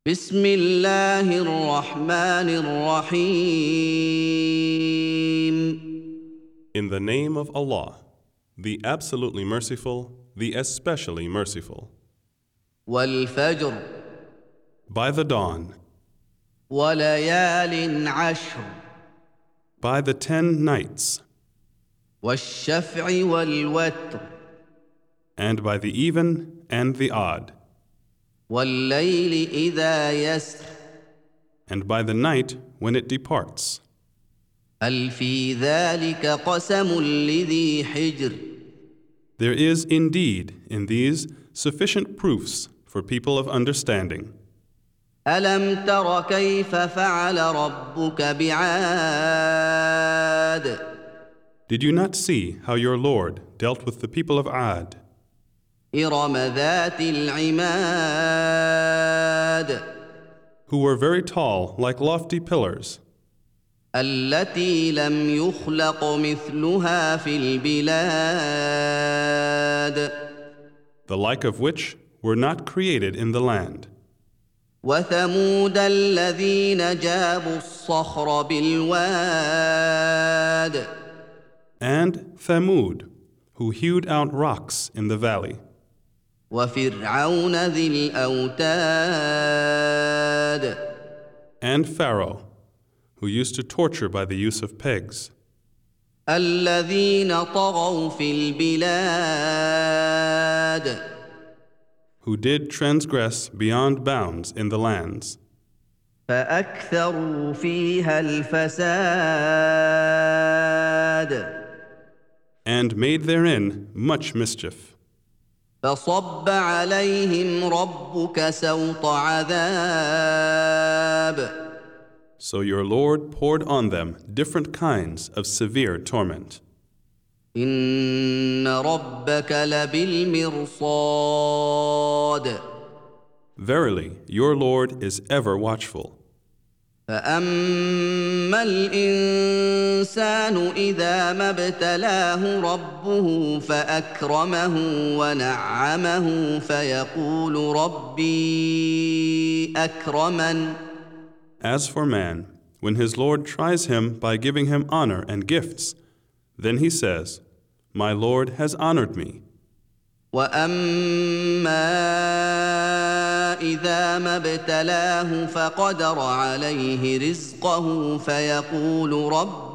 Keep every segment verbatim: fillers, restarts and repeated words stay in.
بسم الله الرحمن الرحيم. In the name of Allah, the absolutely merciful, the especially merciful. والفجر By the dawn, وليال عشر by the ten nights, والشفع والوتر and by the even and the odd, والليل إذا يسر and by the night when it departs. هل في ذلك قسم لذي حجر. There is indeed in these sufficient proofs for people of understanding. ألم تر كيف فعل ربك بعاد. Did you not see how your Lord dealt with the people of Ad, إرم ذات العماد who were very tall like lofty pillars, التي لم يخلق مثلها في البلاد the like of which were not created in the land, وثمود الذين جابوا الصخر بالواد and Thamud, who hewed out rocks in the valley, وفرعون ذي الأوتاد and Pharaoh, who used to torture by the use of pegs, الذين طغوا في البلاد who did transgress beyond bounds in the lands, فأكثروا فيها الفساد and made therein much mischief. فصب عليهم ربك سوط عذاب. So your Lord poured on them different kinds of severe torment. إن ربك لبالمرصاد. Verily, your Lord is ever watchful. فأما الإنسان إذا ما ابتلاه ربه فأكرمه ونعمه فيقول ربي أكرمن. As for man, when his Lord tries him by giving him honor and gifts, then he says, My Lord has honored me. وأما إذا ما ابتلاه فقدر عليه رزقه فيقول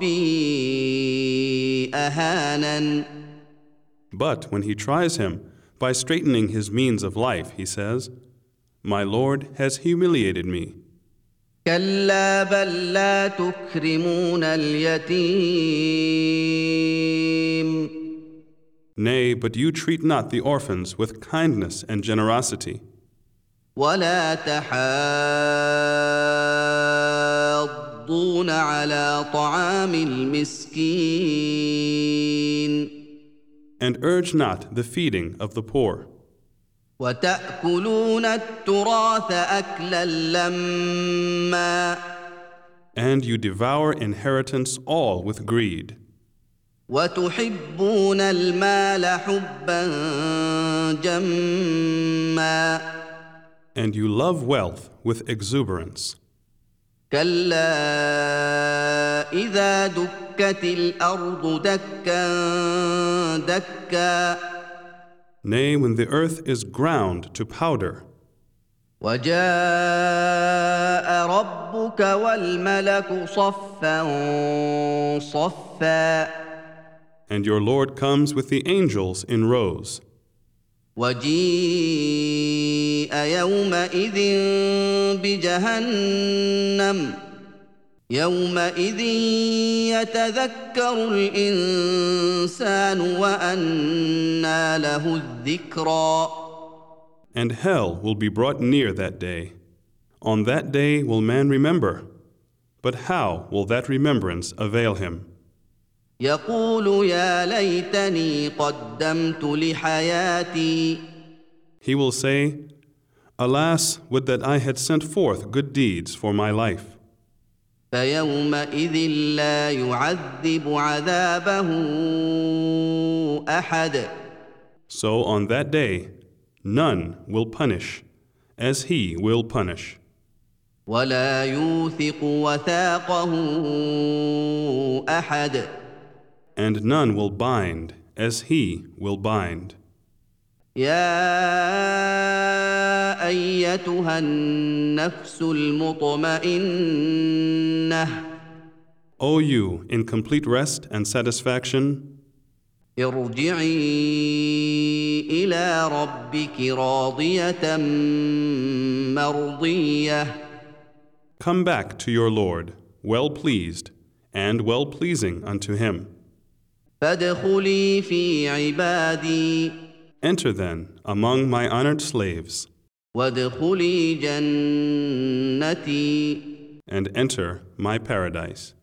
ربي أهانن. But when he tries him by straightening his means of life, he says, My Lord has humiliated me. كلا بل لا تكرمون اليتيم. Nay, but you treat not the orphans with kindness and generosity, ولا تحاضون على طعام المسكين. and urge not the feeding of the poor, وتأكلون التراث أكلا لما. and you devour inheritance all with greed, وتحبون المال حبا جما. and you love wealth with exuberance. كلا إذا دكت الأرض دكا دكا. Nay, when the earth is ground to powder, وجاء ربك والملك صفا صفا. and your Lord comes with the angels in rows, وجيء يومئذ بجهنم. يومئذ يتذكر الإنسان وأنى له الذكرى. and hell will be brought near that day. On that day will man remember, but how will that remembrance avail him? يقول يا ليتني قدمت لحياتي. He will say, Alas, would that I had sent forth good deeds for my life. فيومئذ لا يعذب عذابه أحد. So on that day, none will punish as he will punish. ولا يوثق وثاقه أحد. and none will bind as he will bind. يا أيتها النفس المطمئنة O you in complete rest and satisfaction, ارجعي إلى ربك راضية مرضية. come back to your Lord, well pleased and well pleasing unto him. فادخلي في عبادي Enter then among my honored slaves, وادخلي جنتي. and enter my paradise.